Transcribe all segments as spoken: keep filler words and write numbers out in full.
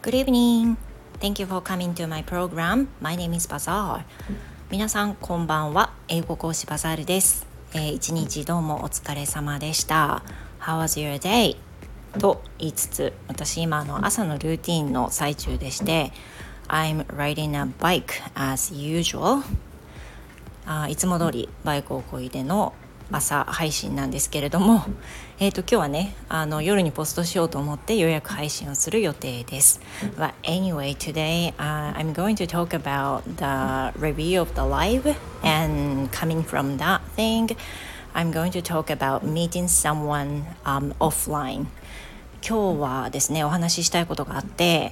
Good evening. Thank you for coming to my program. My name is Bazaar. 皆さんこんばんは。英語講師バザールです。えー、一日どうもお疲れ様でした。How was your day? と言いつつ、私今の朝のルーティンの最中でして、I'm riding a bike as usual. あいつも通りバイクを漕いでの朝配信なんですけれども、えーと今日はねあの夜にポストしようと思って予約配信をする予定です。But anyway, today、uh, I'm going to talk about the review of the live, and coming from that thing, I'm going to talk about meeting someone、um, offline. 今日はですねお話ししたいことがあって、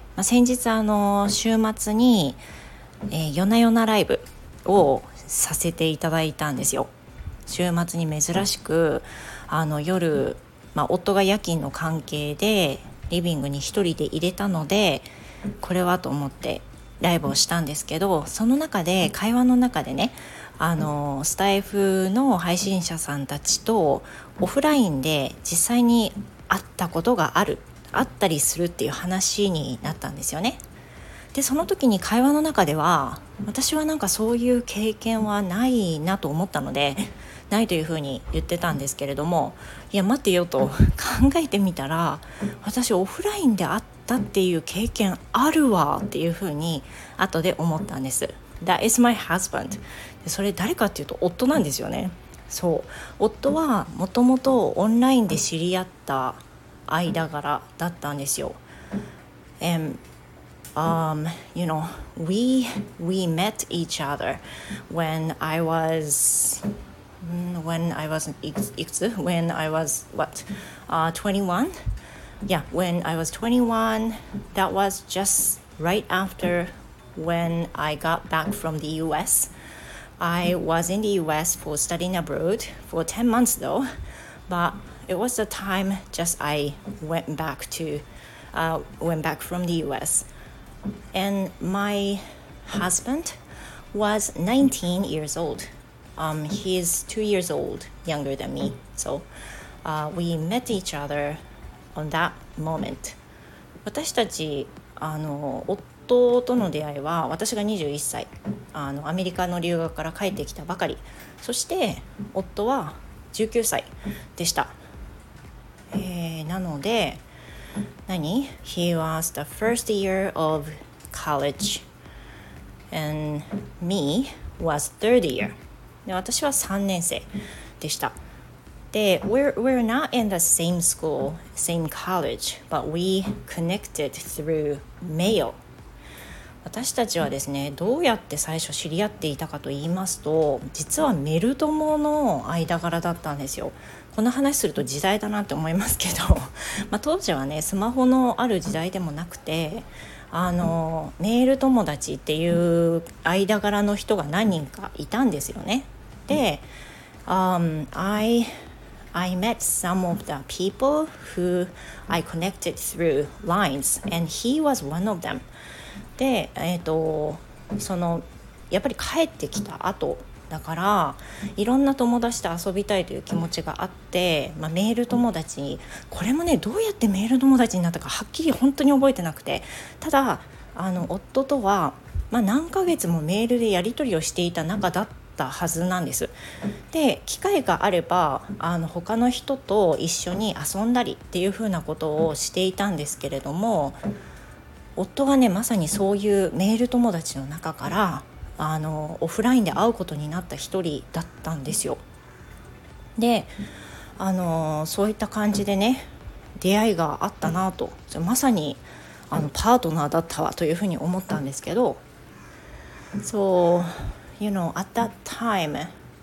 まあ、先日あの週末に、えー、夜な夜なライブをさせていただいたんですよ。週末に珍しくあの夜、まあ、夫が夜勤の関係でリビングに一人で入れたのでこれはと思ってライブをしたんですけど、その中で会話の中でねあのスタイフの配信者さんたちとオフラインで実際に会ったことがあるあったりするっていう話になったんですよね。でその時に会話の中では私はなんかそういう経験はないなと思ったのでないというふうに言ってたんですけれども、いや待ってよと考えてみたら私オフラインで会ったっていう経験あるわっていうふうに後で思ったんです。 That is my husband. でそれ誰かっていうと夫なんですよね。そう夫はもともとオンラインで知り合った間柄だったんですよ。And Um, you know, we we met each other when I was when I was when I was what uh, twenty-one. Yeah, when I was twenty-one, that was just right after when I got back from the U S. I was in the U S for studying abroad for ten months though, but it was the time just I went back to uh, went back from the U S.And my husband was nineteen years old. Um, he's two years old younger than me. So uh, we met each other on that moment. 私たちあの夫との出会いは私がにじゅういっさいあのアメリカの留学から帰ってきたばかり、そして夫はじゅうきゅうさいでした。えー、なので何 He was the first year of college and me was third year. で私はさんねん生でした。で we're, we're not in the same school, same college, but we connected through mail. 私たちはですねどうやって最初知り合っていたかと言いますと、実はメル友の間柄だったんですよ。この話すると時代だなって思いますけどまあ当時はねスマホのある時代でもなくてあのメール友達っていう間柄の人が何人かいたんですよね。で、um, I, I met some of the people who I connected through lines and he was one of them. で、えーと、そのやっぱり帰ってきた後だからいろんな友達と遊びたいという気持ちがあって、まあ、メール友達にこれもねどうやってメール友達になったかはっきり本当に覚えてなくて、ただあの夫とは、まあ、何ヶ月もメールでやり取りをしていた仲だったはずなんです。で機会があればあの他の人と一緒に遊んだりっていう風なことをしていたんですけれども、夫はねまさにそういうメール友達の中からあのオフラインで会うことになった一人だったんですよ。であのそういった感じでね出会いがあったなと、まさにあのパートナーだったわというふうに思ったんですけど、 So you know at that time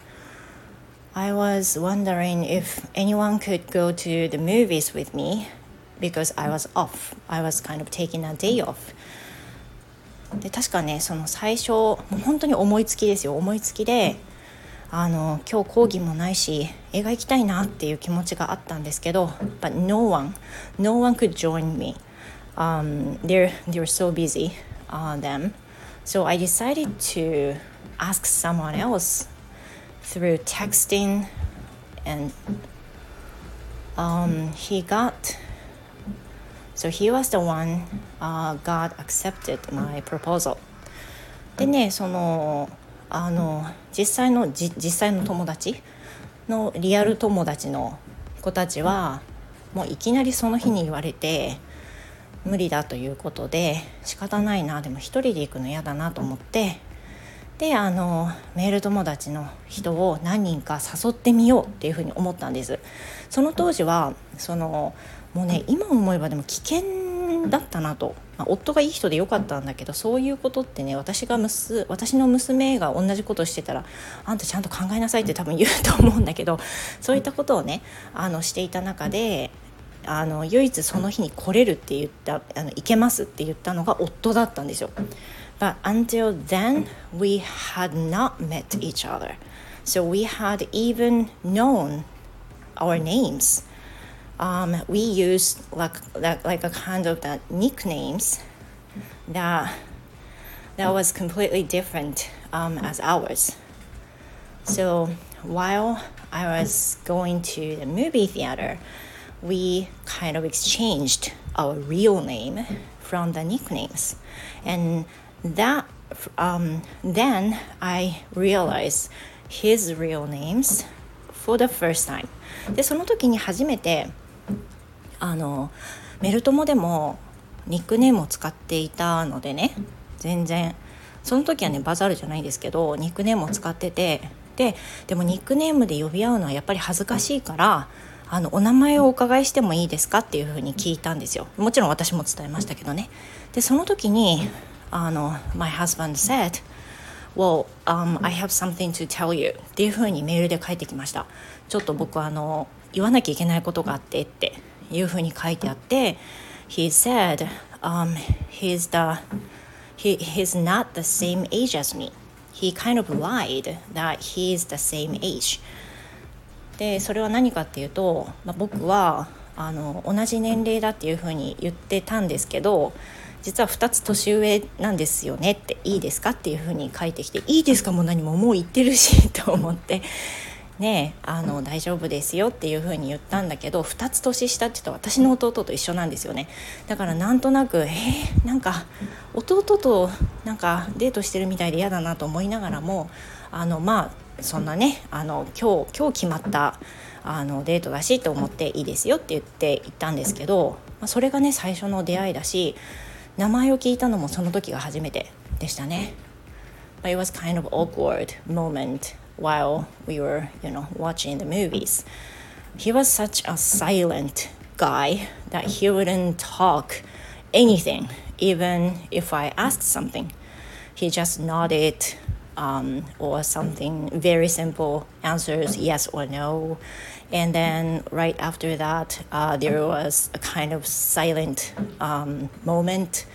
I was wondering if anyone could go to the movies with me because I was off. I was kind of taking a day off.で確かねその最初もう本当に思いつきですよ。思いつきであの今日講義もないし映画行きたいなっていう気持ちがあったんですけど But no one no one could join me、um, they're, they're so busy、uh, them so I decided to ask someone else through texting and、um, he got So he was the one、uh, God accepted my proposal. でね、そのあの実際のじ実際の友達のリアル友達の子たちはもういきなりその日に言われて無理だということで、仕方ないな、でも一人で行くの嫌だなと思って、であのメール友達の人を何人か誘ってみようっていうふうに思ったんです。その当時はそのもうね、今思えばでも危険だったなと、まあ、夫がいい人でよかったんだけど、そういうことってね、私がむす私の娘が同じことしてたら、あんたちゃんと考えなさいって多分言うと思うんだけど、そういったことをねあのしていた中で、あの唯一その日に来れるって言った、あの行けますって言ったのが夫だったんですよ。But until then we had not met each other, so we had even known our names.Um, we used like, like like a kind of that nicknames that that was completely different um, as ours. So while I was going to the movie theater, we kind of exchanged our real name from the nicknames, and that um, then I realized his real names for the first time. でその時に初めてあのメルトモでもニックネームを使っていたのでね、全然その時はねバザールじゃないんですけどニックネームを使ってて、ででもニックネームで呼び合うのはやっぱり恥ずかしいから、あのお名前をお伺いしてもいいですかっていうふうに聞いたんですよ。もちろん私も伝えましたけどね。でその時にあの My husband said Well, um, I have something to tell you っていうふうにメールで書いてきました。ちょっと僕はあの言わなきゃいけないことがあってっていうふうに書いてあって、 He said、um, he's, the, he, he's not the same age as me. He kind of lied that he's the same age. でそれは何かっていうと、まあ、僕はあの同じ年齢だっていうふうに言ってたんですけど、実はふたつ年上なんですよねって、いいですかっていうふうに書いてきて、いいですかも何ももう言ってるしと思ってね、あの大丈夫ですよっていうふうに言ったんだけど、ふたつ年下って言うと私の弟と一緒なんですよね。だからなんとなくえー、なんか弟となんかデートしてるみたいで嫌だなと思いながらも、あのまあそんなね、あの今日今日決まったあのデートだしと思っていいですよって言って行ったんですけど、まあ、それがね最初の出会いだし、名前を聞いたのもその時が初めてでしたね。But it was kind of awkward moment while we were, you know, watching the movies. He was such a silent guy that he wouldn't talk anything, even if I asked something. He just nodded um, or something very simple answers yes or no. And then right after that, uh, there was a kind of silent um, moment.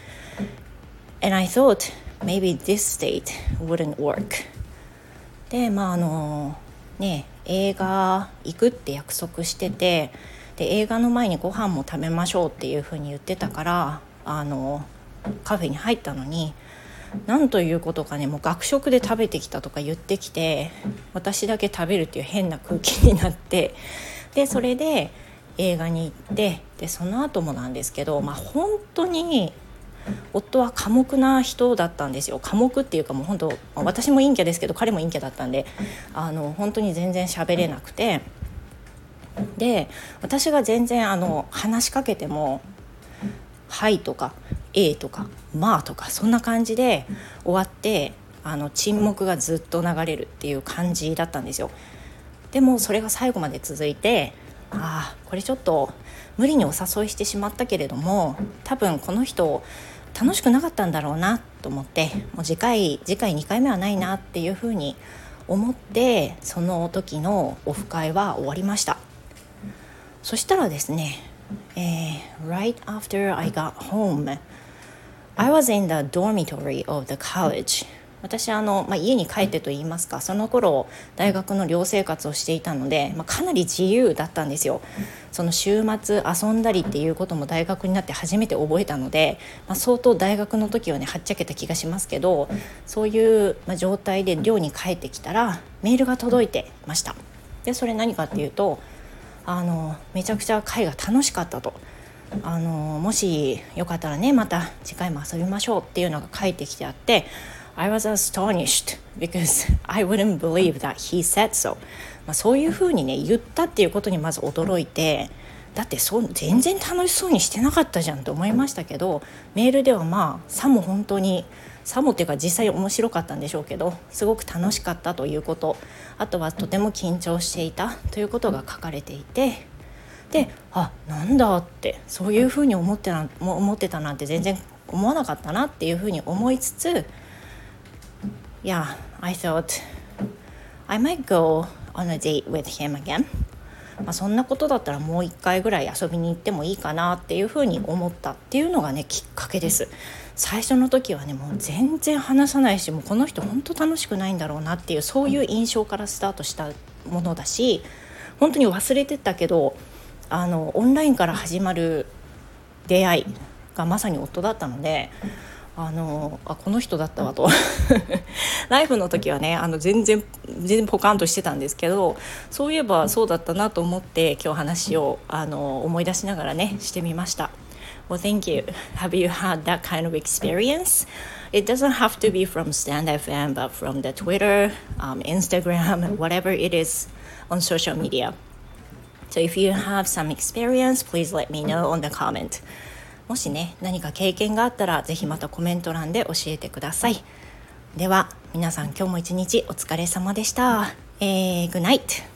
And I thought maybe this state wouldn't work. で、まああのね、映画行くって約束してて、で映画の前にご飯も食べましょうっていうふうに言ってたから、あのカフェに入ったのに、なんということかね、もう学食で食べてきたとか言ってきて、私だけ食べるっていう変な空気になって、でそれで映画に行って、でその後もなんですけど、まあ本当に夫は寡黙な人だったんですよ。寡黙っていうかもう本当、私も陰キャですけど彼も陰キャだったんで、あの本当に全然喋れなくて、で私が全然あの話しかけてもはいとかえーとかまあとかそんな感じで終わって、あの沈黙がずっと流れるっていう感じだったんですよ。でもそれが最後まで続いて、ああこれちょっと無理にお誘いしてしまったけれども、多分この人楽しくなかったんだろうなと思って、もう次回次回にかいめはないなっていうふうに思って、その時のオフ会は終わりました。そしたらですね、えー、right after I got home, I was in the dormitory of the college. 私あの、まあ、家に帰ってと言いますか、その頃大学の寮生活をしていたので、まあ、かなり自由だったんですよ。その週末遊んだりっていうことも大学になって初めて覚えたので、まあ、相当大学の時はねはっちゃけた気がしますけど、そういう、まあ、状態で寮に帰ってきたらメールが届いてました。でそれ何かっていうと、あのめちゃくちゃ会が楽しかったと。 あのもしよかったらねまた次回も遊びましょうっていうのが書いてきてあって、 I was astonished because I wouldn't believe that he said so、まあ、そういうふうにね言ったっていうことにまず驚いて、だってそう全然楽しそうにしてなかったじゃんと思いましたけど、メールではまあさも本当にさもっていうか実際面白かったんでしょうけど、すごく楽しかったということ、あとはとても緊張していたということが書かれていて、で、あ、なんだってそういうふうに思ってな思ってたなんて全然思わなかったなっていうふうに思いつつ、Yeah, I thought I might go on a date with him again、まあ、そんなことだったらもう一回ぐらい遊びに行ってもいいかなっていうふうに思ったっていうのがねきっかけです。最初の時はねもう全然話さないし、もうこの人本当楽しくないんだろうなっていうそういう印象からスタートしたものだし、本当に忘れてたけどあのオンラインから始まる出会いがまさに夫だったので、あのあこの人だったわとライフの時はねあの全然全然ポカンとしてたんですけど、そういえばそうだったなと思って今日話をあの思い出しながらねしてみました。Well, thank you. Have you had that kind of experience? It doesn't have to be from Stand エフエム, but from the Twitter, um, Instagram, whatever it is on social media.So if you have some experience, please let me know on the comment. もしね、何か経験があったら、ぜひまたコメント欄で教えてください。では、皆さん今日も一日お疲れ様でした。えー、Good night!